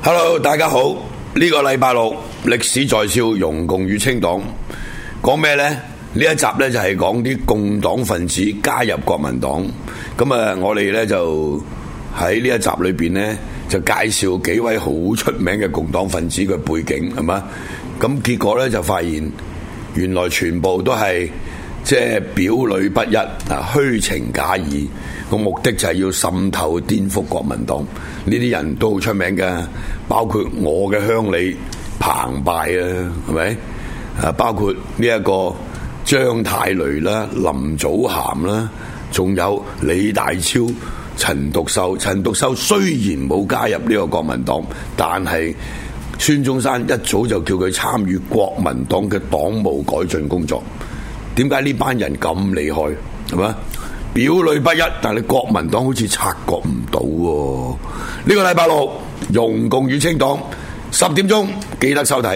Hello， 大家好。呢個禮拜六歷史在笑，容共與清黨講咩呢？呢一集呢，就係講啲共黨分子加入國民黨。咁啊，我哋呢，就喺呢一集裏邊呢，就介紹幾位好出名嘅共黨分子嘅背景，係嘛？咁結果呢，就發現原來全部都係即係表裏不一啊，虛情假意。個目的就係要滲透顛覆國民黨。呢啲人都好出名嘅，包括我嘅鄉里澎湃啊，係咪啊？包括呢一個張太雷啦、林祖涵啦，仲有李大超、陳獨秀。陳獨秀雖然冇加入呢個國民黨，但係孫中山一早就叫佢參與國民黨嘅黨務改進工作。點解呢班人咁厲害？係嘛？表裏不一，但係國民黨好似察覺唔到喎。呢個禮拜六，容共與清黨10點鐘記得收睇。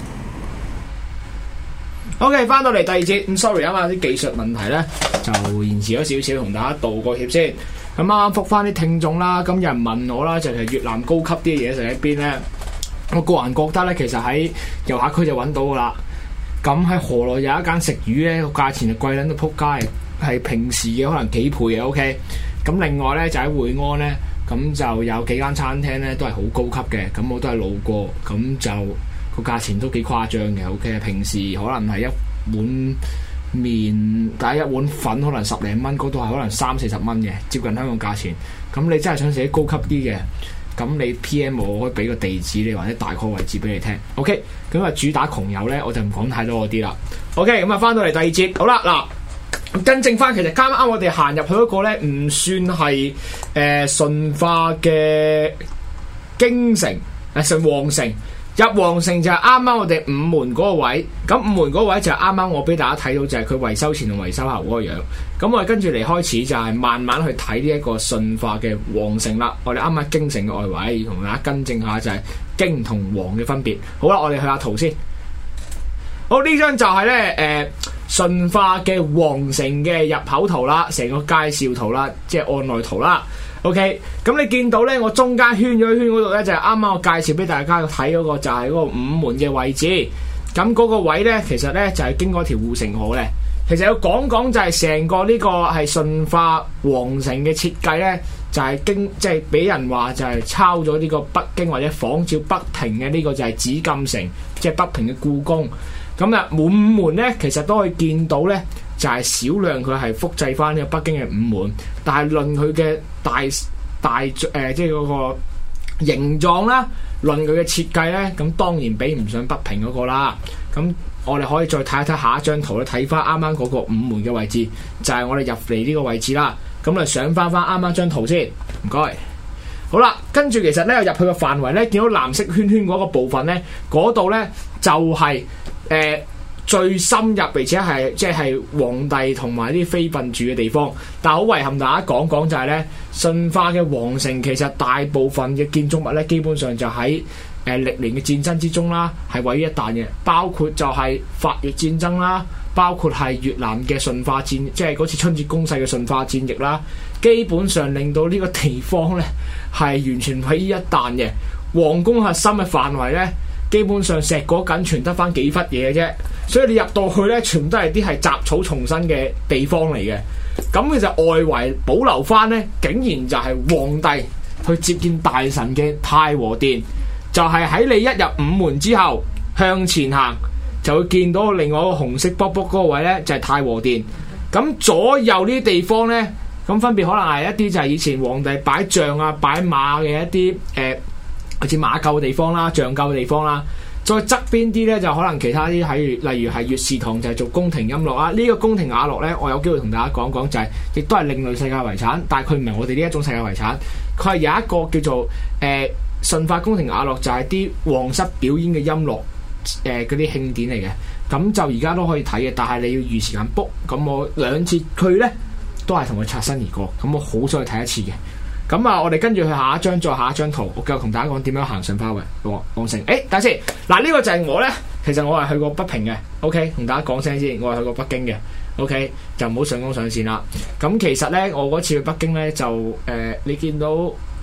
OK， 翻到嚟第二節，咁 sorry 啊嘛，啲技術問題咧就延遲咗少少，同大家道個歉先。咁啱啱覆翻啲聽眾啦，咁有人問我啦，就係越南高級啲嘢食喺邊咧？我個人覺得咧，其實喺遊客區就揾到噶啦。咁喺河內有一間食魚咧，個價錢就貴撚到撲街。係平時嘅可能幾倍嘅 OK， 咁另外呢，就喺會安呢，咁就有幾間餐廳呢，都係好高級嘅，咁我都係路過，咁就個價錢都幾誇張嘅 OK， 平時可能係一碗麵，但係一碗粉可能10零蚊，嗰度係可能30-40蚊嘅，接近香港價錢。咁你真係想食啲高級啲嘅，咁你 PM 我可以俾個地址你，或者大概位置俾你聽 OK。咁啊主打窮遊呢，我就唔講太多嗰啲啦 OK。咁啊翻到嚟第二節，好啦嗱。更正翻，其實啱啱我哋行入去嗰個咧，唔算係順化嘅京城，上皇城。入皇城就係啱啱我哋午門嗰個位，咁午門嗰個位就係啱啱我俾大家睇到，就係佢維修前同維修後嗰個樣。咁我哋跟住嚟開始就係慢慢去睇呢一個順化嘅皇城啦。我哋啱啱京城嘅外圍，同大家更正下就係京同皇嘅分別。好啦，我哋去下圖先。好，呢張就係咧順化嘅皇城嘅入口圖啦，成個介紹圖啦，即係案內圖啦。OK， 咁你見到咧，我中間圈咗一圈嗰度咧，就係啱啱我介紹俾大家睇嗰個，就係嗰個午門嘅位置。咁嗰個位咧，其實咧就係經過條護城河嘅。其實要講就係成個呢個係順化皇城嘅設計咧，就係即係俾人話就係抄咗呢個北京或者仿照北平嘅呢個就係紫禁城，即係北平嘅故宮。咁啊，午門咧，其實都可以見到咧，就係少量佢係複製翻呢個北京嘅午門，但係論佢嘅大即係嗰個形狀啦，論佢嘅設計咧，咁當然比唔上北平嗰個啦。咁我哋可以再睇一睇下一張圖咧，睇翻啱啱嗰個午門嘅位置，就係我哋入嚟呢個位置啦。咁啊，上翻啱啱張圖先，唔該。好啦，跟住其實咧入去嘅範圍咧，見到藍色圈圈嗰個部分咧，嗰度咧就係最深入，而且係即係皇帝同埋啲妃嬪住嘅地方。但係好遺憾，大家講就係咧，順化嘅皇城其實大部分嘅建築物咧，基本上就喺歷年嘅戰爭之中啦，係毀於一旦嘅。包括就係法越戰爭啦，包括係越南嘅順化戰，即係嗰次春節攻勢嘅順化戰役啦，基本上令到呢個地方咧係完全毀於一旦嘅。皇宮核心嘅範圍咧，基本上石果緊全得翻幾忽嘢嘅啫，所以你入到去咧，全部都係啲係雜草叢生嘅地方嚟嘅。咁其實外圍保留翻咧，竟然就係皇帝去接見大臣嘅太和殿，就係喺你一入午門之後向前行，就會見到另外一個紅色卜卜嗰個位咧，就係太和殿。咁左右呢啲地方咧，咁分別可能係一啲就係以前皇帝擺象啊、擺馬嘅一啲好似馬廄嘅地方啦、象廄嘅地方啦，再側邊啲咧就可能其他啲例如係粵士堂就係做宮廷音樂啦。呢個宮廷雅樂咧，我有機會同大家講講，就係亦都係另類世界遺產，但係佢唔係我哋呢一種世界遺產，佢係有一個叫做順化宮廷雅樂，就係啲皇室表演嘅音樂嗰啲慶典嚟嘅。咁就而家都可以睇嘅，但係你要預時間 book。咁我2次去咧都係同佢擦身而過，咁我好想去睇一次嘅。咁啊，我哋跟住去下一張，再下一張圖，我繼續同大家講點樣行順化皇城。等下先，嗱呢個就係我咧，其實我係去過北平嘅 ，OK， 同大家講聲先，我係去過北京嘅 ，OK， 就唔好上綱上線啦。咁其實咧，我嗰次去北京咧就你見到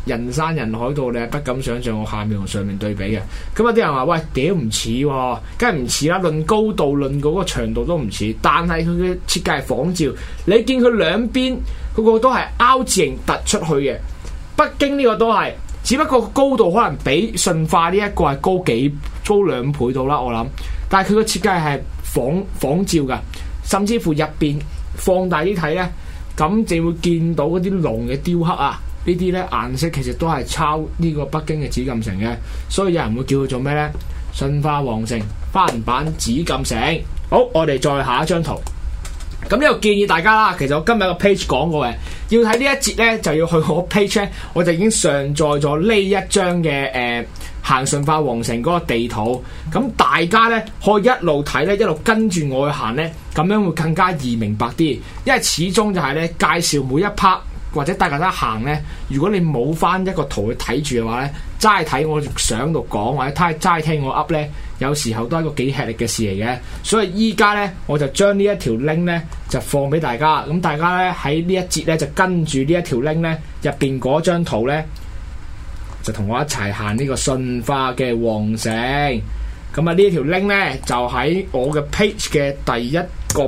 人山人海到你係不敢想象我下面同上面對比嘅。咁有啲人話：喂，屌唔似喎，梗係唔似啦！論高度、論嗰個長度都唔似，但係佢嘅設計係仿照。你見佢兩邊嗰個都係凹字形突出去嘅，北京呢個都係，只不過高度可能比順化呢一個係高2倍到啦，我諗。但係佢個設計係仿照㗎，甚至乎入邊放大啲睇咧。咁就會見到嗰啲龍嘅雕刻啊，呢啲咧顏色其實都係抄呢個北京嘅紫禁城嘅，所以有人會叫佢做咩呢？順化皇城翻版紫禁城。好，我哋再下一張圖。咁呢度建議大家啦，其實我今日個 page 講過嘅，要睇呢一節呢，就要去我 page 咧，我就已經上載咗呢一張嘅行順化皇城嗰個地圖。咁大家呢，可以一路睇呢，一路跟住我去行呢，咁樣會更加易明白啲。因為始終就係呢，介紹每一 part 或者帶大家行呢，如果你冇翻一個圖去睇住嘅話呢，齋睇我相度講或者齋聽我 up 呢，有時候都係一個幾吃力嘅事嚟嘅。所以依家呢，我就將呢一條 link 呢就放俾大家。咁大家呢，喺呢一節呢，就跟住呢一條 link 呢入邊嗰張圖呢，就同我一齊行呢個順化嘅皇城。咁啊呢條 link 呢，就喺我嘅 page 嘅第一個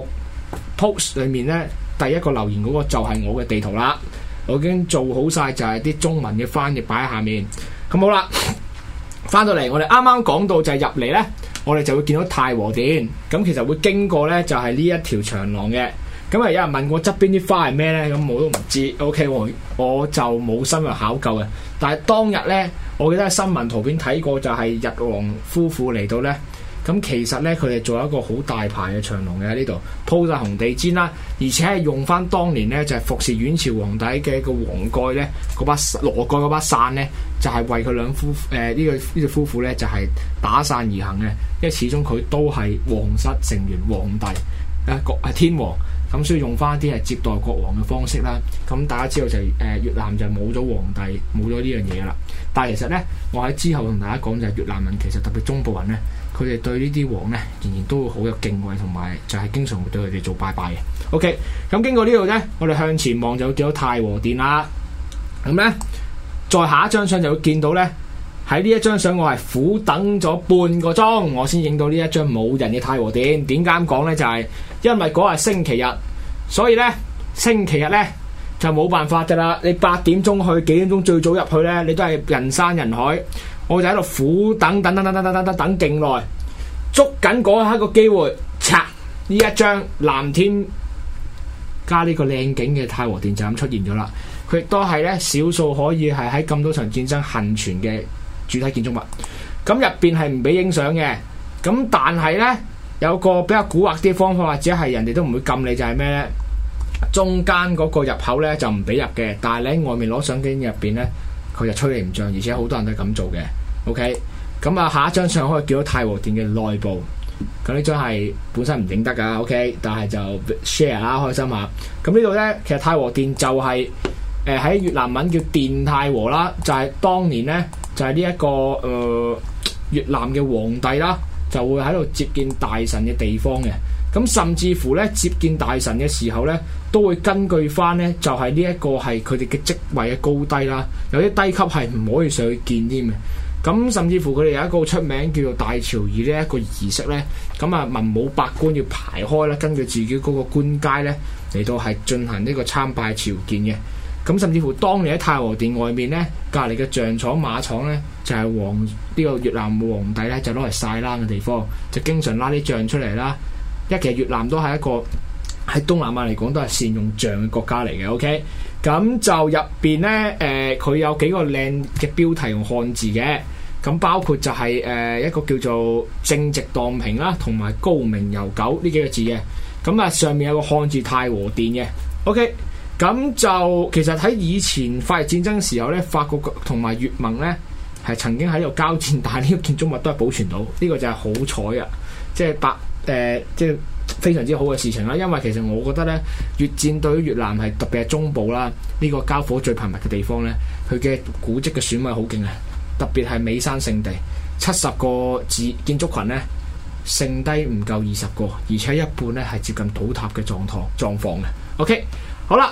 post 裏面呢，第一個留言嗰個就係我嘅地圖啦。我已經做好晒，就係啲中文嘅翻譯擺喺下面。咁好啦，翻到嚟我哋啱啱講到就係入嚟呢，我哋就會見到太和殿。咁其實會經過呢，就係呢一條長廊嘅。咁啊有人問我側邊啲花係咩呢？咁我都唔知。OK， 我就冇深入考究嘅。但係當日呢，我記得喺新聞圖片睇過，就係日皇夫婦嚟到呢。咁其實呢，佢哋做一個好大排嘅長廊嘅喺呢度，鋪晒紅地氈啦，而且係用翻當年呢，就係服侍阮朝皇帝嘅一個黃蓋呢，嗰把羅蓋嗰把傘呢，就係為佢兩夫呢對夫婦呢，就係打傘而行嘅，因為始終佢都係皇室成員皇帝係天皇，咁所以用翻啲係接待國王嘅方式啦。咁大家知道就越南就冇咗皇帝，冇咗呢樣嘢啦。但係其實呢，我喺之後同大家講就係越南人其實特別中部人呢，佢哋對呢啲王呢，仍然都會好有敬畏，同埋就係經常會對佢哋做拜拜嘅。OK， 咁經過呢度呢，我哋向前望就會見到太和殿啦。咁呢，再下一張相就會見到呢，喺呢一張相我係苦等咗半個鐘，我先影到呢一張冇人嘅太和殿。點解咁講呢？就係因為嗰日星期日，所以呢，星期日呢，就冇辦法噶啦。你8點鐘去，幾點鐘最早入去呢，你都係人山人海。我就喺度苦等勁耐，捉緊嗰一刻個機會，拆呢一張藍天加呢個靚景嘅太和殿就咁出現咗啦。佢亦都係咧少數可以係喺咁多場戰爭幸存嘅主體建築物。咁入邊係唔俾影相嘅，咁但係呢，有個比較蠱惑啲方法，或者係人哋都唔會禁你，就係咩呢？中間嗰個入口呢，就唔俾入嘅，但係你喺外面攞相機入邊呢，佢就吹你唔脹，而且好多人都係咁做嘅。OK， 咁啊下一張相可以見到太和殿嘅內部。咁呢張係本身唔影得噶 ，OK， 但係就 share 啦，開心下。咁呢度呢，其實太和殿就係喺越南文叫殿太和啦，就係當年呢，就係呢一個越南嘅皇帝啦，就會喺度接見大臣嘅地方嘅。咁甚至乎呢，接見大臣嘅時候呢，都會根據翻呢，就係呢一個係佢哋嘅職位嘅高低啦。有啲低級係唔可以上去見添嘅。咁甚至乎佢哋有一個出名叫做大朝儀呢一個儀式呢。咁啊文武百官要排開啦，根據自己嗰個官階呢，嚟到係進行呢個參拜朝見嘅。咁甚至乎當年喺太和殿外面呢，隔離嘅象廠馬廠呢，就係呢個越南皇帝呢，就攞嚟曬冷嘅地方，就經常拉啲象出嚟啦。其實越南都係一個喺東南亞嚟講都係善用象嘅國家嚟嘅。OK， 咁就入邊呢，佢有幾個靚嘅標題用漢字嘅，咁包括就係一個叫做正直蕩平啦，同埋高明悠久呢幾個字嘅。咁啊上面有個漢字太和殿嘅。OK， 咁就其實喺以前法日戰爭時候呢，法國同埋越盟呢係曾經喺度交戰，但係呢個建築物都係保存到，呢個就係好彩啊！即係非常之好嘅事情啦。因為其實我覺得呢，越戰對於越南係特別係中部啦，呢個交火最頻密嘅地方呢，佢嘅古蹟嘅損毀好勁啊！特別係美山聖地，70個建築群呢，剩低唔夠20個，而且一半呢係接近倒塌嘅狀況嘅。OK， 好啦，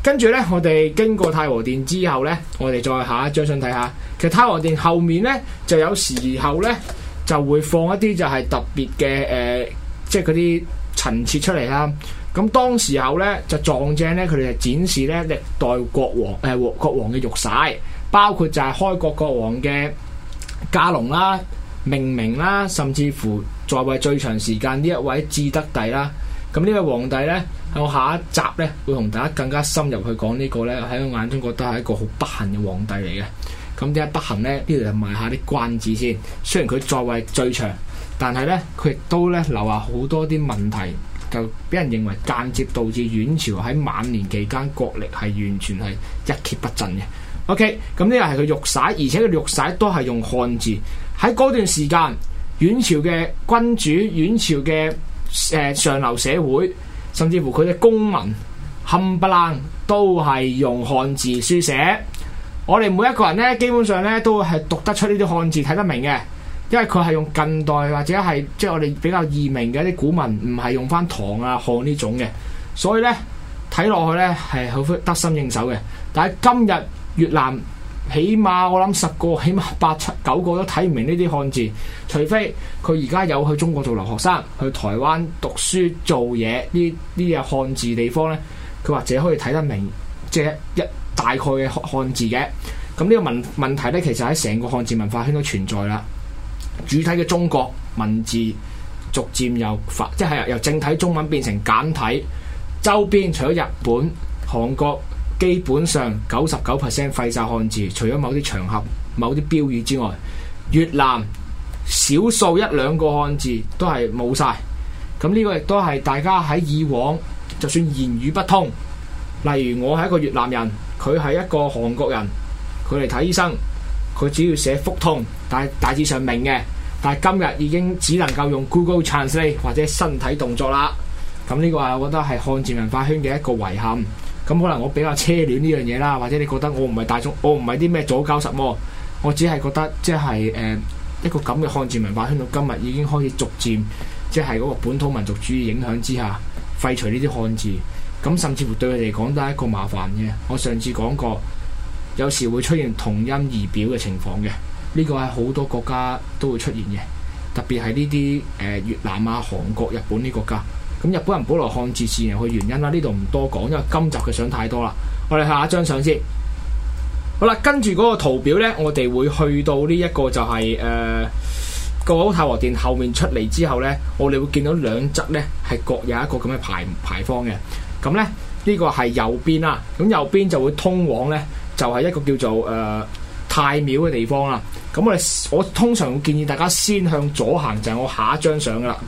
跟住咧，我哋經過太和殿之後咧，我哋再下一張相睇下。其實太和殿後面咧，就有時候咧就會放一啲就係特別嘅即係嗰啲陳設出嚟啦。咁當時候咧就撞正咧，佢哋就展示咧歷代國王嘅玉璽，包括就係開國國王嘅駕龍啦、命名啦，甚至乎在位最長時間呢一位至德帝啦。咁呢位皇帝咧，喺我下一集咧會同大家更加深入去講呢個咧，喺我眼中覺得係一個好不幸嘅皇帝嚟嘅。咁點解不幸咧？呢度就賣下啲關子先。雖然佢在位最長，但係咧佢亦都咧留下好多啲問題，就俾人認為間接導致阮朝喺晚年期間國力係完全係一蹶不振嘅。OK， 咁呢個係佢玉璽，而且佢玉璽都係用漢字。喺嗰段時間，阮朝嘅君主、阮朝嘅上流社會，甚至乎佢嘅公民冚唪唥都係用漢字書寫。我哋每一個人咧，基本上咧都係讀得出呢啲漢字，睇得明嘅，因為佢係用近代或者係即係我哋比較易明嘅一啲古文，唔係用翻唐啊漢呢種嘅，所以咧睇落去咧係好得心應手嘅。但係今日越南起碼我諗10個，起碼8、9個都睇唔明呢啲漢字，除非佢而家有去中國做留學生，去台灣讀書做嘢呢啲漢字地方咧，佢或者可以睇得明，即係一大概嘅漢字嘅。咁呢個問題咧，其實喺成個漢字文化圈都存在啦。主體嘅中國文字逐漸即係由正體中文變成簡體，周邊除咗日本、韓國，基本上99% 廢晒漢字，除咗某啲場合、某啲標語之外，越南少數1、2個漢字都係冇晒。咁呢個亦都係大家喺以往就算言語不通，例如我係一個越南人，佢係一個韓國人，佢嚟睇醫生，佢只要寫腹痛，但係大致上明嘅。但係今日已經只能夠用 Google Translate 或者身體動作啦。咁呢個係我覺得係漢字文化圈嘅一個遺憾。咁可能我比較奢戀呢樣嘢啦，或者你覺得我唔係大眾，我唔係啲咩左膠實魔，我只係覺得即係一個咁嘅漢字文化圈到今日已經開始逐漸即係嗰個本土民族主義影響之下廢除呢啲漢字，咁甚至乎對佢哋嚟講都係一個麻煩嘅。我上次講過，有時會出現同音異表嘅情況嘅，呢個係好多國家都會出現嘅，特別係呢啲越南啊、韓國、日本呢啲國家。咁日本人保留漢字自然有佢原因啦，呢度唔多講，因為今集嘅相太多啦。我哋下一張相先。好啦，跟住嗰個圖表呢，我哋會去到呢一個就係個太和殿後面出嚟之後呢，我哋會見到兩側呢係各有一個咁嘅牌坊嘅。咁呢，呢個係右邊啦，咁右邊就會通往呢，就係一個叫做太廟嘅地方啦。咁我通常會建議大家先向左行，就係我下一張相噶啦。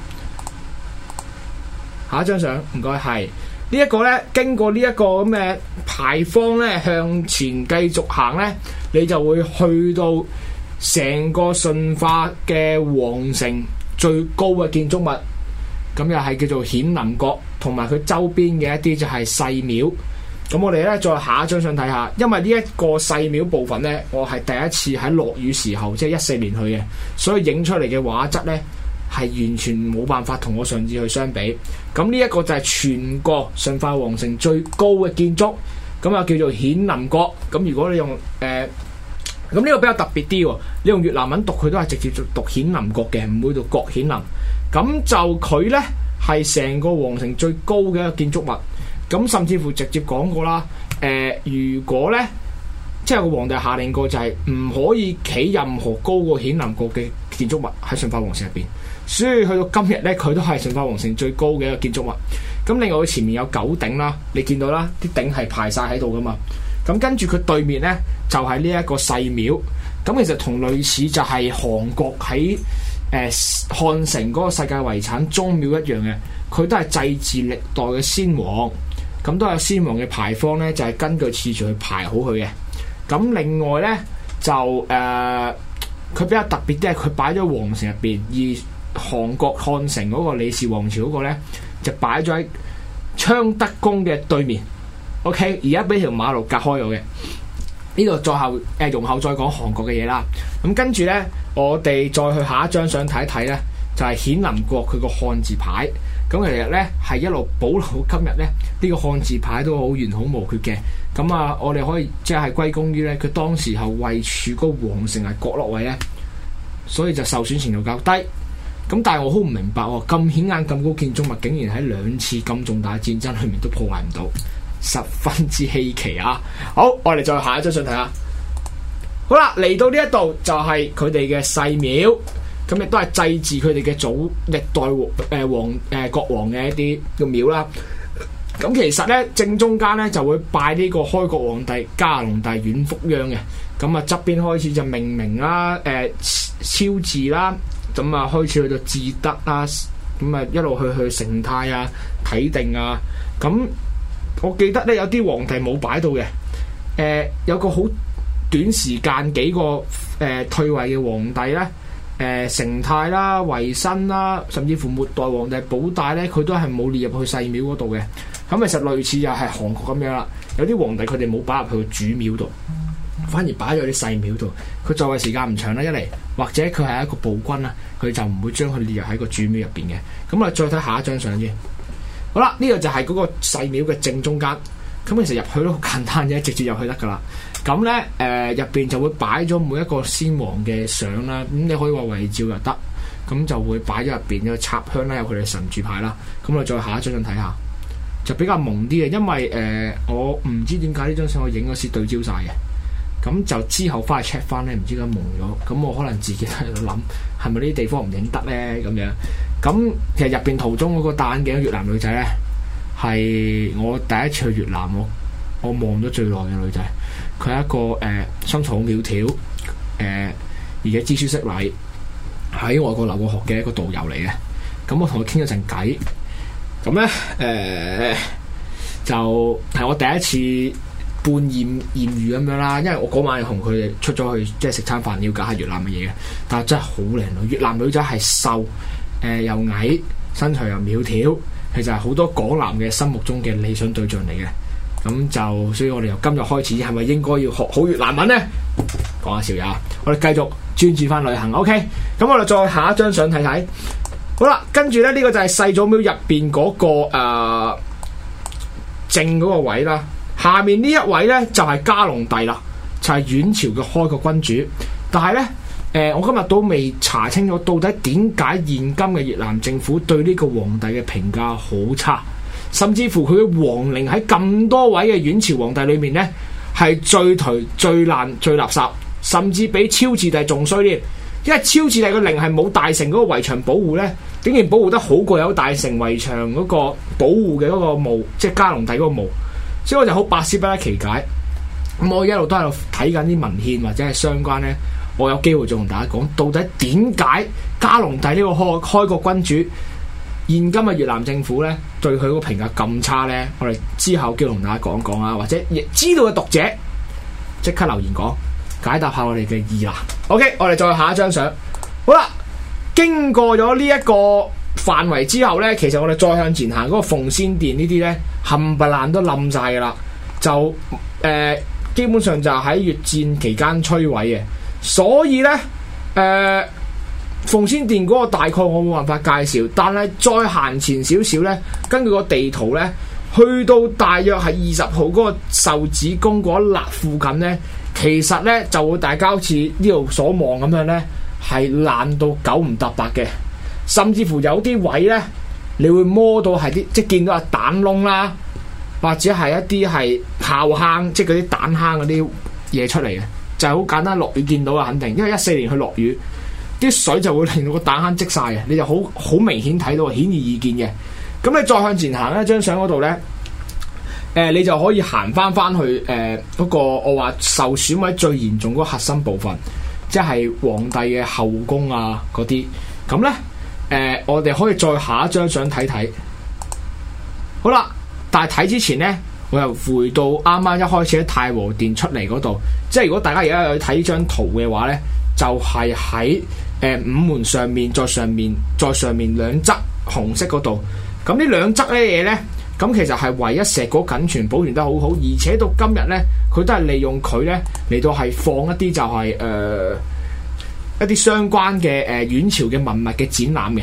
下一張相，唔該，係呢一個呢，經過呢一個咁嘅牌坊呢，向前繼續行呢，你就會去到成個順化嘅皇城最高嘅建築物，咁又係叫做顯靈閣，同埋佢周邊嘅一啲就係細廟。咁我哋呢，再下一張相睇下，因為呢一個細廟部分呢，我係第一次喺落雨時候，即係14年去嘅，所以影出嚟嘅畫質呢，係完全冇辦法同我上次去相比。咁呢一個就係全個順化皇城最高嘅建築，咁又叫做顯靈閣。咁如果你用咁呢個比較特別啲喎，你用越南文讀佢都係直接讀顯靈閣嘅，唔會讀閣顯靈。咁就佢呢，係成個皇城最高嘅一個建築物。咁甚至乎直接講過啦，如果呢，即係個皇帝下令過就係唔可以起任何高過顯靈閣嘅建築物喺順化皇城入邊。所以去到今日咧，佢都係順化皇城最高嘅一個建築物。咁另外佢前面有9頂啦，你見到啦，啲頂係排晒喺度噶嘛。咁跟住佢對面咧就係呢一個細廟。咁其實同類似就係韓國喺漢城嗰個世界遺產宗廟一樣嘅，佢都係祭祀歷代嘅先王。咁都有先王嘅牌坊咧，就係根據次序去排好佢嘅。咁另外咧就佢比較特別啲係佢擺咗皇城入邊，而韓國漢城嗰個李氏王朝嗰個咧就擺咗喺昌德宮嘅對面。OK， 而家俾條馬路隔開咗嘅。呢度再後容後再講韓國嘅嘢啦。咁跟住咧，我哋再去下一張相睇一睇咧，就係顯靈閣佢個漢字牌。 咁其實咧係一路保留今日咧呢個漢字牌都好完好無缺嘅。咁啊，我哋可以即係歸功於咧佢當時候位處嗰個皇城係角落位咧，所以就受損程度較低。咁但係我好唔明白喎，咁顯眼咁高建築物，竟然喺2次咁重大戰爭裏面都破壞唔到，十分之稀奇啊！好，我哋再下一張相睇下。好啦，嚟到呢一度就係佢哋嘅細廟，咁亦都係祭祀佢哋嘅祖歷代國王嘅一啲嘅廟啦。咁其實咧正中間咧就會拜呢個開國皇帝加隆帝阮福央嘅。咁啊側邊開始就命名啦，超字啦，咁啊開始去到至德啦，咁啊一路去成泰啊、啟定啊。咁我記得咧有啲皇帝冇擺到嘅，有個好短時間幾個退位嘅皇帝咧，成泰啦、維新啦，甚至乎末代皇帝保大咧，佢都係冇列入去細廟嗰度嘅。咁其實類似又係韓國咁樣啦，有啲皇帝佢哋冇擺入去個主廟度，反而擺咗啲細廟度。佢在位時間唔長啦，一嚟或者佢係一個暴君啦，佢就唔會將佢列入喺個主廟入邊嘅。咁啊，再睇下一張相先。好啦，呢個就係嗰個細廟嘅正中間。咁其實入去都好簡單嘅，直接入去得噶啦。咁咧入邊就會擺咗每一個先王嘅相啦。咁你可以話遺照又得，咁就會擺咗入邊有插香啦，有佢哋神主牌啦。咁我再下一張相睇下。就比較蒙啲嘅，因為我唔知點解呢張相我影嗰時對焦晒嘅，咁就之後翻去 check 翻咧，唔知點解蒙咗，咁我可能自己喺度諗，係咪呢啲地方唔影得咧咁樣？咁其實入邊途中嗰個戴眼鏡嘅越南女仔咧，係我第一次去越南我望咗最耐嘅女仔，佢係一個身材好苗條，而且知書識禮，喺外國留過學嘅一個導遊嚟嘅，咁我同佢傾咗陣偈。咁咧，就係我第一次半艷遇咁樣啦，因為我嗰晚同佢哋出咗去即係食餐飯，了解下越南嘅嘢嘅。但係真係好靚女，越南女仔係瘦，又矮，身材又苗條，其實係好多港男嘅心目中嘅理想對象嚟嘅。咁就所以我哋由今日開始，係咪應該要學好越南文呢？講下笑嘢，我哋繼續專注翻旅行。OK，咁我哋再下一張相睇睇。好啦，跟住咧呢個就係世祖廟入邊嗰個正嗰個位啦。下面呢一位咧就係嘉隆帝啦，就係阮朝嘅開國君主。但係咧我今日都未查清楚到底點解現今嘅越南政府對呢個皇帝嘅評價好差，甚至乎佢嘅皇陵喺咁多位嘅阮朝皇帝裏面咧係最頹、最爛、最垃圾，甚至比超治帝仲衰添。因為超治帝個陵係冇大城嗰個圍牆保護咧，竟然保護得好過有大城圍牆嗰個保護嘅嗰個墓，即係嘉隆帝嗰個墓，所以我就好百思不得其解。咁我一路都喺度睇緊啲文獻或者係相關咧，我有機會再同大家講，到底點解嘉隆帝呢個開國君主現今嘅越南政府咧對佢個評價咁差咧？我哋之後機會同大家講講啊，或者亦知道嘅讀者即刻留言講。解答下我哋嘅疑難。OK， 我哋再下一張相。好啦，經過咗呢一個範圍之後呢，其實我哋再向前行，嗰個奉先殿呢啲呢，冚唪唥都冧晒噶啦。就基本上就喺越戰期間摧毀嘅。所以呢，奉先殿嗰個大概我冇辦法介紹，但係再行前少少呢，根據個地圖呢，去到大約係20號嗰個壽子宮嗰一粒附近呢。其實咧就會大家好似呢度所望咁樣咧，係爛到九唔搭八嘅，甚至乎有啲位咧，你會摸到係啲即係見到係彈窿啦，或者係一啲係炮坑，即係嗰啲彈坑嗰啲嘢出嚟嘅，就係好簡單。落雨見到啊，肯定，因為14年去落雨，啲水就會令到個彈坑積晒嘅，你就好明顯睇到，顯而易見嘅。咁你再向前行一張相嗰度咧。你就可以行翻去嗰個我話受損位最嚴重嗰個核心部分，即係皇帝嘅後宮啊嗰啲。咁咧我哋可以再下一張相睇睇。好啦，但係睇之前咧，我又回到啱啱一開始喺太和殿出嚟嗰度。即係如果大家而家有睇呢張圖嘅話咧，就係喺午門上面，再上面兩側紅色嗰度。咁呢兩側咧嘢咧。咁其實係唯一碩果僅存，保存得好好，而且到今日咧，佢都係利用佢咧嚟到係放一啲就係一啲相關嘅阮朝嘅文物嘅展覽嘅。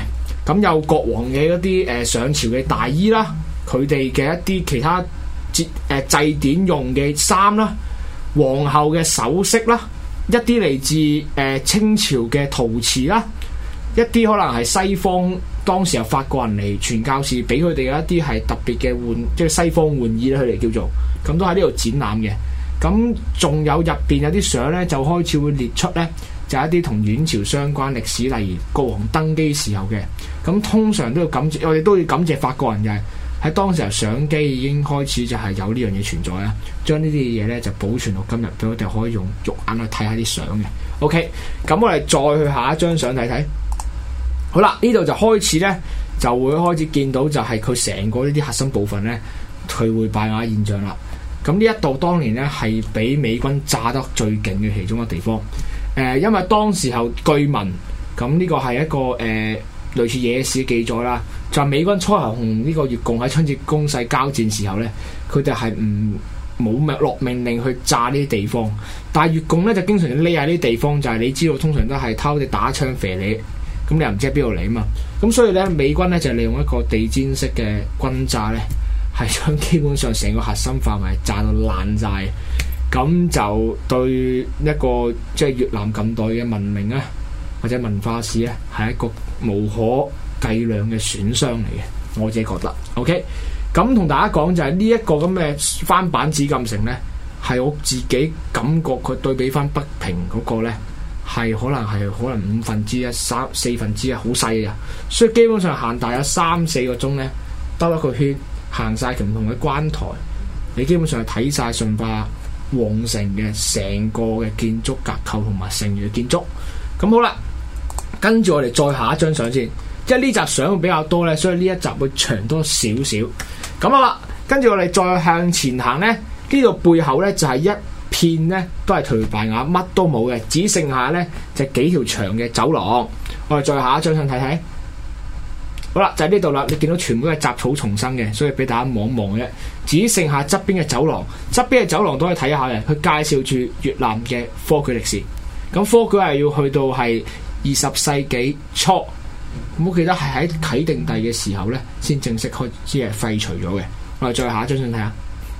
咁有國王嘅一啲上朝嘅大衣啦，佢哋嘅一啲其他祭典用嘅衫啦，皇后嘅首飾啦，一啲嚟自清朝嘅陶瓷啦，一啲可能係西方當時由法國人嚟傳教士俾佢哋嘅一啲係特別嘅即係西方玩意咧，佢哋叫做咁都喺呢度展覽嘅。咁仲有入邊有啲相咧，就開始會列出咧，就係一啲同阮朝相關歷史，例如國王登基時候嘅。咁通常都要感謝，我哋都要感謝法國人，就係喺當時候相機已經開始就係有呢樣嘢存在啊，將呢啲嘢咧就保存到今日，俾我哋可以用肉眼去睇下啲相嘅。OK， 咁我哋再去下一張相睇睇。好啦，呢度就開始咧，就會開始見到就係佢成個呢啲核心部分咧，佢會敗瓦現象啦。咁呢一度當年咧係俾美軍炸得最勁嘅其中一個地方。因為當時候據聞，咁呢個係一個類似野史記載啦，就係美軍初頭同呢個越共喺春節攻勢交戰時候咧，佢哋係冇落命令去炸呢啲地方，但係越共咧就經常匿喺呢啲地方，就係你知道通常都係偷哋打槍射你，咁你又唔知喺邊度嚟啊嘛，咁所以咧美軍咧就利用一個地毯式嘅轟炸咧，係將基本上成個核心範圍炸到爛晒，咁就對一個即係越南近代嘅文明啊或者文化史咧係一個無可計量嘅損傷嚟嘅，我自己覺得。OK， 咁同大家講就係呢一個咁嘅翻版紫禁城咧，係我自己感覺佢對比翻北平嗰個咧，係可能1/5、1/4好細嘅，所以基本上行大有3-4個鐘咧，兜一個圈，行晒唔同嘅關台，你基本上係睇晒順化皇城嘅成個嘅建築結構同埋剩餘嘅建築。咁好啦，跟住我哋再下一張相先，因為呢集相會比較多咧，所以呢一集會長多少少。咁好啦，跟住我哋再向前行咧，呢度背後咧就係一片咧都係頹敗瓦，乜都冇嘅，只剩下咧就幾條長嘅走廊。我哋再下一張相睇睇。好啦，就喺呢度啦，你見到全部都係雜草叢生嘅，所以俾大家望一望嘅啫。只剩下側邊嘅走廊，側邊嘅走廊都可以睇下嘅，佢介紹住越南嘅科舉歷史。咁科舉係要去到係20世紀初，咁我記得係喺啟定帝嘅時候咧，先正式開始係廢除咗嘅。我哋再下一張相睇下。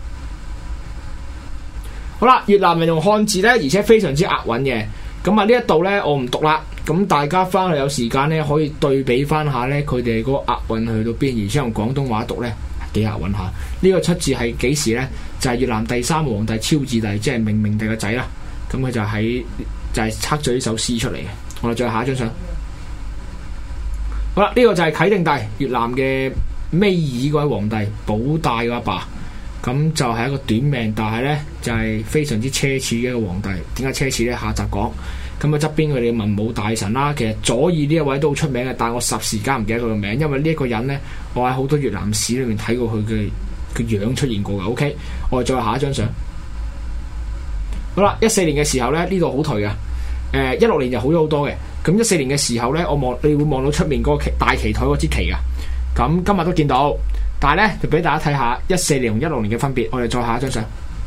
好啦，越南人用漢字咧，而且非常之押韻嘅。咁啊呢一度咧，我唔讀啦。咁大家翻去有時間咧，可以對比翻下咧，佢哋嗰個押韻去到邊，而且用廣東話讀咧，幾押韻下。呢個出自係幾時咧？就係越南第3皇帝超治帝，即係明明帝個仔啦。咁佢就係測咗呢首詩出嚟嘅。我哋再下一張相。好啦，呢個就係啟定帝，越南嘅尾二嗰位皇帝，保大嘅阿爸。咁就係一個短命，但係咧就係非常之奢侈嘅一個皇帝。點解奢侈咧？下集講。咁啊側邊佢哋嘅文武大臣啦，其實左耳呢一位都好出名嘅，但係我霎時間唔記得佢個名，因為呢一個人咧，我喺好多越南史裏面睇過佢嘅樣出現過嘅。OK， 我哋再下一張相。好啦，14年嘅時候咧，呢度好頹嘅。16年就好咗好多嘅。咁14年嘅時候咧，你會望到出面嗰個大旗台嗰支旗噶。咁今日都見到，但係咧就俾大家睇下14年同16年嘅分別。我哋再下一張相。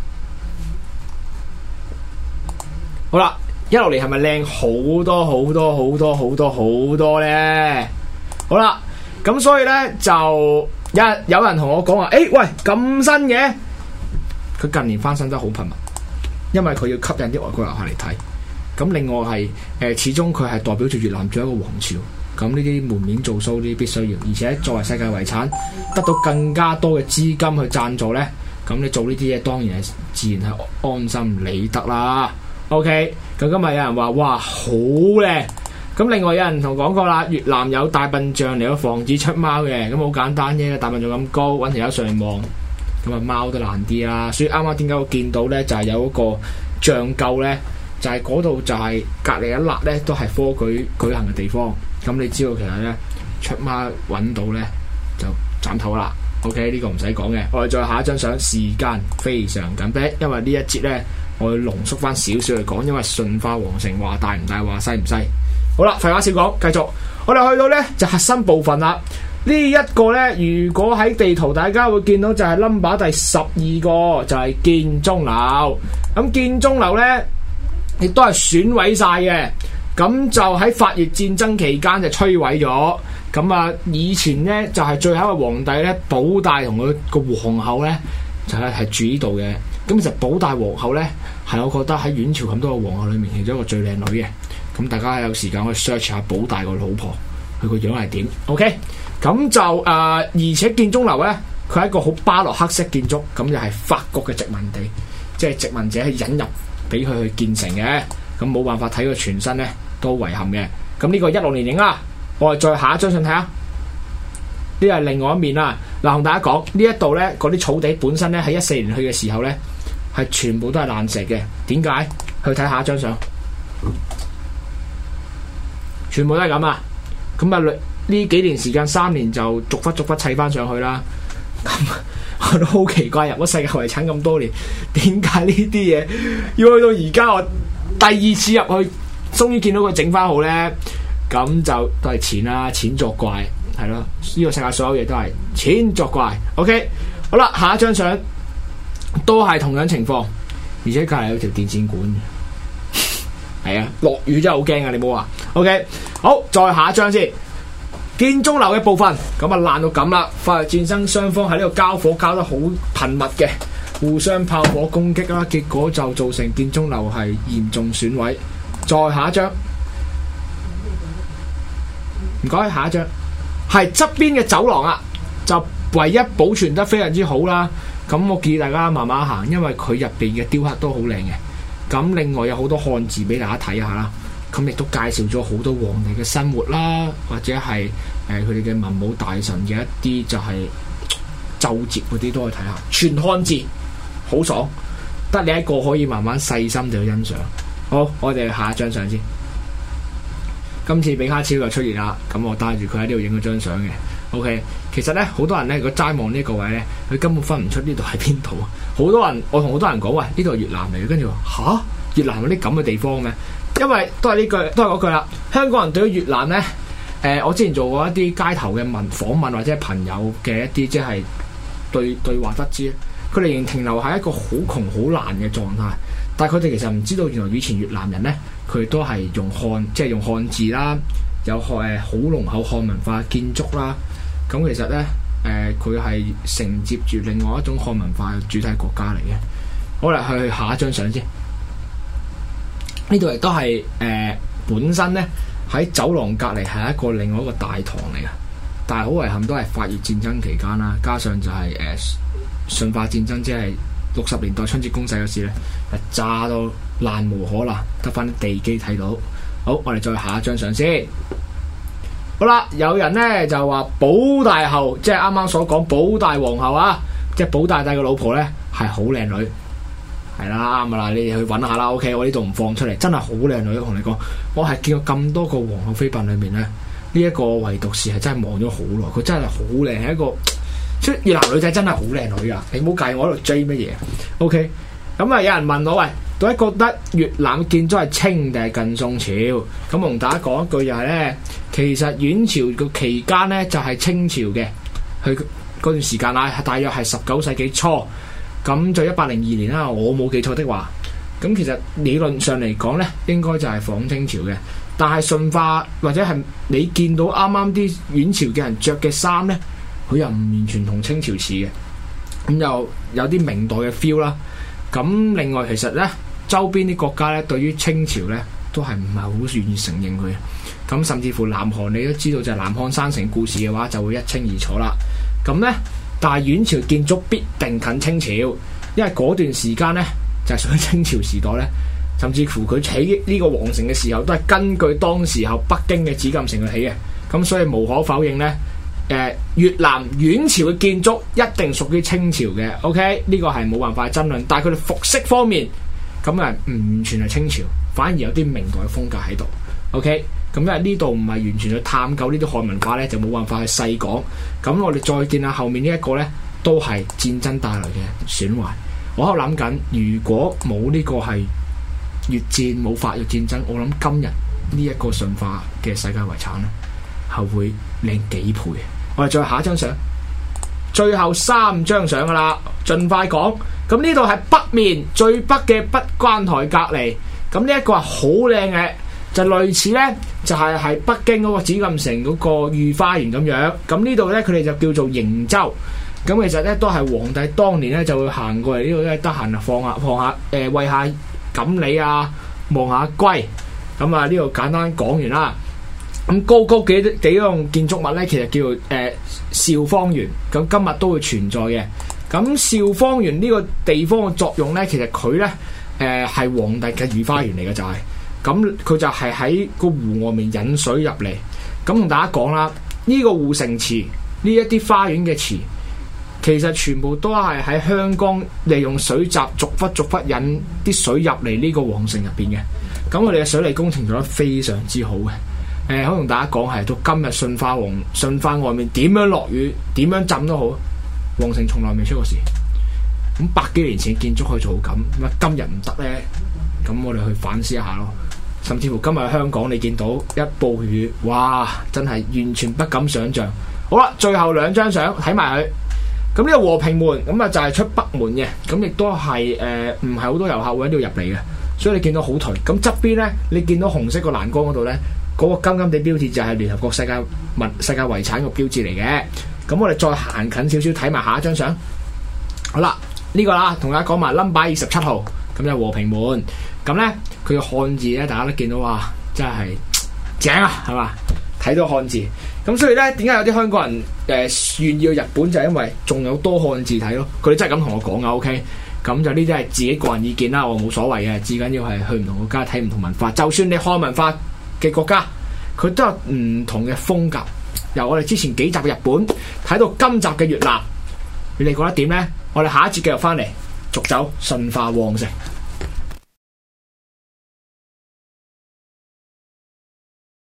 好啦。16年係咪靚好多好多好多好多好多咧？好啦，咁所以咧就有人同我講話，喂咁新嘅，佢近年翻新得好頻密，因為佢要吸引啲外國遊客嚟睇。咁另外係始終佢係代表住越南做一個王朝，咁呢啲門面做 show 呢啲必須要，而且作為世界遺產，得到更加多嘅資金去贊助咧，咁你做呢啲嘢當然係自然係安心理得啦。OK， 咁今日有人話哇好靚，咁另外有人同講過啦，越南有大笨象嚟到防止出貓嘅，咁好簡單啫，大笨象咁高，揾條友上嚟望，咁啊貓都難啲啦。所以啱啱點解我見到咧，就係有一個象構咧，就係嗰度就係隔離一粒咧，都係科舉行嘅地方。咁你知道其實咧出貓揾到咧就斬頭啦。OK， 呢個唔使講嘅，我哋再下一張相，時間非常緊迫，因為呢一節咧。我要濃縮翻少少嚟講，因為順化皇城話大唔大，話細唔細。好啦，廢話少講，繼續。我哋去到呢就核心部分啦。呢一個呢，如果喺地圖大家會見到就係 number 第12個，就係建中樓。咁建中樓呢，亦都係損毀晒嘅。咁就喺法越戰爭期間就摧毀咗。 咁啊，以前咧就係最後一個皇帝咧，保大同佢個皇后咧就係住呢度嘅。咁其實保大皇后咧係我覺得喺元朝咁多個皇后裏面其中一個最靚女嘅。咁大家有時間可以 search 下保大個老婆，佢個樣係點 ？OK， 咁就而且建中樓咧，佢係一個好巴洛克式建築，咁就係法國嘅殖民地，即係殖民者係引入俾佢去建成嘅。咁冇辦法睇佢全身咧，都遺憾嘅。咁呢個16年影啦。我哋再下一張相睇下，呢係另外一面啦。嗱，同大家講呢一度呢，嗰啲草地本身呢，喺14年去嘅時候呢，係全部都係爛石嘅。點解？去睇下一張相，全部都係咁啊！咁啊，呢幾年時間3年就逐忽砌翻上去啦。咁我都好奇怪，入咗世界遺產咁多年，點解呢啲嘢要去到而家我第2次入去，終於見到佢整翻好呢？咁就都係錢啦，錢作怪，係咯。呢個世界所有嘢都係錢作怪。OK， 好啦，下一張相都係同樣情況，而且隔籬有條電線管嘅，係啊，落雨真係好驚啊！你冇話 OK， 好，再下一張先。建中樓嘅部分咁啊爛到咁啦，法日戰爭雙方喺呢度交火交得好頻密嘅，互相炮火攻擊啦，結果就造成建中樓係嚴重損毀。再下一張。唔該，下一張係側邊嘅走廊啊，就唯一保存得非常之好啦。咁我建議大家慢慢行，因為佢入邊嘅雕刻都好靚嘅。咁另外有好多漢字俾大家睇下啦。咁亦都介紹咗好多皇帝嘅生活啦，或者係佢哋嘅文武大臣嘅一啲就係奏摺嗰啲都可以睇下。全漢字好爽，得你一個可以慢慢細心地去欣賞。好，我哋下一張相先。今次比卡超就出現啦，咁我帶住佢喺呢度影咗張相嘅。OK， 其實咧好多人咧，如果齋望呢個位咧，佢根本分唔出呢度係邊度。好多人，我同好多人講，喂，呢度係越南嚟嘅，跟住話吓，越南有啲咁嘅地方咩？因為都係呢句，都係嗰句啦。香港人對於越南咧，我之前做過一啲街頭嘅訪問或者係朋友嘅一啲即係對話得知，佢哋仍然停留喺一個好窮好難嘅狀態。但係佢哋其實唔知道，原來以前越南人咧，佢都係用漢字啦，有好濃厚漢文化建築啦。咁其實咧，佢係承接住另外一種漢文化嘅主體國家嚟嘅。好啦，去下一張相先。呢度亦都係本身咧喺走廊隔離係另外一個大堂嚟嘅，但係好遺憾都係法越戰爭期間啦，加上就係順化戰爭，即係60年代春節攻勢嗰時咧，炸到爛無可爛，得翻啲地基睇到。好，我哋再下一張相先。好啦，有人咧就話保大后，即係啱啱所講保大皇后啊，即係保大帝嘅老婆咧係好靚女，係啦，啱啦，你哋去揾下啦。OK， 我呢度唔放出嚟，真係好靚女。我同你講，我係見過咁多個皇后妃嬪裏面咧，呢一個唯獨是係真係望咗好耐，佢真係好靚，係一個。即係越南女仔真係好靚女噶，你唔好介意我喺度追乜嘢。OK， 咁啊有人問我，喂，到底覺得越南建築係清定係近宋朝？咁我同大家講一句就係咧，其實元朝個期間咧就係清朝嘅，佢嗰段時間啊，大約係19世紀初，咁就1802年啦，我冇記錯的話。咁其實理論上嚟講咧，應該就係仿清朝嘅，但係順化或者係你見到啱啱啲元朝嘅人着嘅衫咧，佢又唔完全同清朝似嘅，咁又有啲明代嘅 feel 啦。咁另外其實咧，周邊啲國家咧對於清朝咧都係唔係好願意承認佢。咁甚至乎南韓你都知道就係南漢山城故事嘅話，就會一清二楚啦。咁咧，但係元朝建築必定近清朝，因為嗰段時間咧就係屬於清朝時代咧，甚至乎佢起呢個皇城嘅時候都係根據當時候北京嘅紫禁城去起嘅。咁所以無可否認咧。越南元朝嘅建築一定屬於清朝嘅 ，OK 呢個係冇辦法爭論。但係佢哋服飾方面咁啊，唔完全係清朝，反而有啲明代嘅風格喺度。OK， 咁因為呢度唔係完全去探究呢啲漢文化咧，就冇辦法去細講。咁我哋再見下後面呢一個咧，都係戰爭帶來嘅損壞。我喺度諗緊，如果冇呢個係越戰，冇法越戰爭，我諗今日呢一個順化嘅世界遺產咧，係會靚幾倍。我哋再下一張相，最後3張相噶啦，盡快講。咁呢度係北面最北嘅北關台隔離，咁呢一個係好靚嘅就類似咧，就係北京嗰個紫禁城嗰個御花園咁樣。咁呢度咧，佢哋就叫做瀛洲。咁其實咧都係皇帝當年咧就會行過嚟呢度咧，得閒啊放下餵下錦鯉啊，望下龜。咁啊呢度簡單講完啦。咁高幾樣建築物咧，其實叫做兆芳園。咁今日都會存在嘅。咁兆芳園呢個地方嘅作用咧，其實佢咧係皇帝嘅御花園嚟嘅，就係咁佢就係喺個湖外面引水入嚟。咁同大家講啦，呢個護城池呢一啲花園嘅池。其實全部都係喺香港利用水閘逐忽引啲水入嚟呢個皇城入邊嘅。咁我哋嘅水利工程做得非常之好嘅。可以同大家講係到今日順化外面點樣落雨點樣浸都好，皇城從來未出過事。咁百幾年前建築可以做到咁，今日唔得呢？咁我哋去反思一下咯。甚至乎今日香港你見到一暴雨，哇！真係完全不敢想像。好啦，最後兩張相睇埋佢。咁呢個和平門咁啊就係出北門嘅，咁亦都係唔係好多遊客會喺呢度入嚟嘅，所以你見到好頹。咁側邊咧，你見到紅色個欄杆嗰度咧，嗰個金金地標誌就係聯合國世界遺產個標誌嚟嘅。咁我哋再行近少少睇埋下一張相。好啦，呢個啦，同大家講埋 number 27號，咁就和平門。咁咧佢嘅漢字咧，大家都見到哇，真係正啊，係嘛？睇到漢字。咁所以咧，點解有啲香港人願意去日本，就係因為仲有多漢字睇咯。佢哋真係咁同我講噶 ，OK。咁就呢啲係自己個人意見啦，我冇所謂嘅。至緊要係去唔同國家睇唔同文化，就算你漢文化嘅國家，佢都有唔同嘅風格。由我哋之前幾集嘅日本睇到今集嘅越南，你哋覺得點呢？我哋下一節繼續翻嚟，續走順化旺盛。